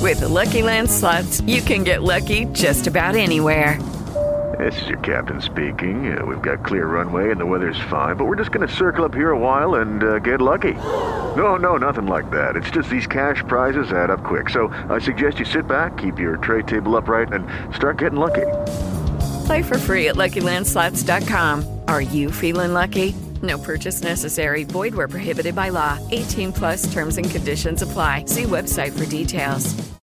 With the Lucky Land Slots, you can get lucky just about anywhere. This is your captain speaking. We've got clear runway and the weather's fine, but we're just going to circle up here a while and get lucky. No, nothing like that. It's just these cash prizes add up quick. So I suggest you sit back, keep your tray table upright, and start getting lucky. Play for free at LuckyLandSlots.com. Are you feeling lucky? No purchase necessary. Void where prohibited by law. 18 plus terms and conditions apply. See website for details.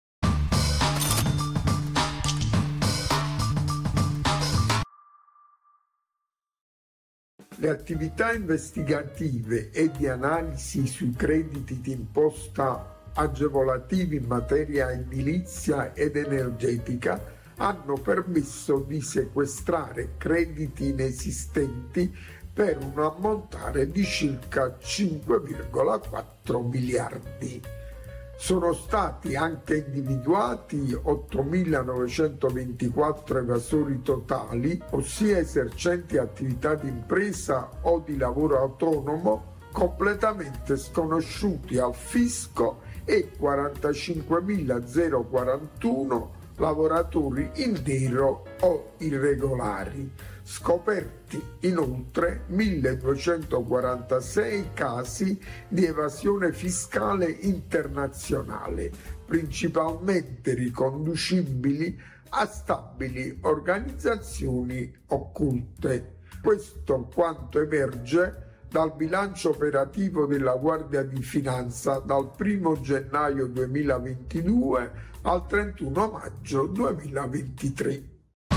Le attività investigative e di analisi sui crediti d'imposta agevolativi in materia edilizia ed energetica hanno permesso di sequestrare crediti inesistenti per un ammontare di circa 5,4 miliardi. Sono stati anche individuati 8.924 evasori totali, ossia esercenti attività di impresa o di lavoro autonomo completamente sconosciuti al fisco e 45.041 lavoratori in nero o irregolari. Scoperti inoltre 1.246 casi di evasione fiscale internazionale, principalmente riconducibili a stabili organizzazioni occulte. Questo quanto emerge dal bilancio operativo della Guardia di Finanza dal 1 gennaio 2022 al 31 maggio 2023.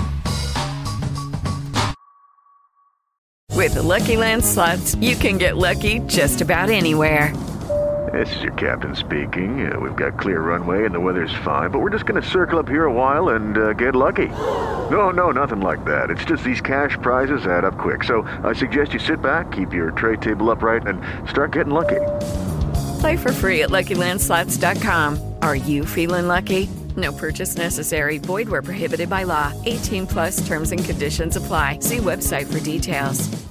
With the Lucky Land Slots, you can get lucky just about anywhere. This is your captain speaking. We've got clear runway and the weather's fine, but we're just going to circle up here a while and get lucky. No, nothing like that. It's just these cash prizes add up quick. So I suggest you sit back, keep your tray table upright, and start getting lucky. Play for free at LuckyLandSlots.com. Are you feeling lucky? No purchase necessary. Void where prohibited by law. 18 plus terms and conditions apply. See website for details.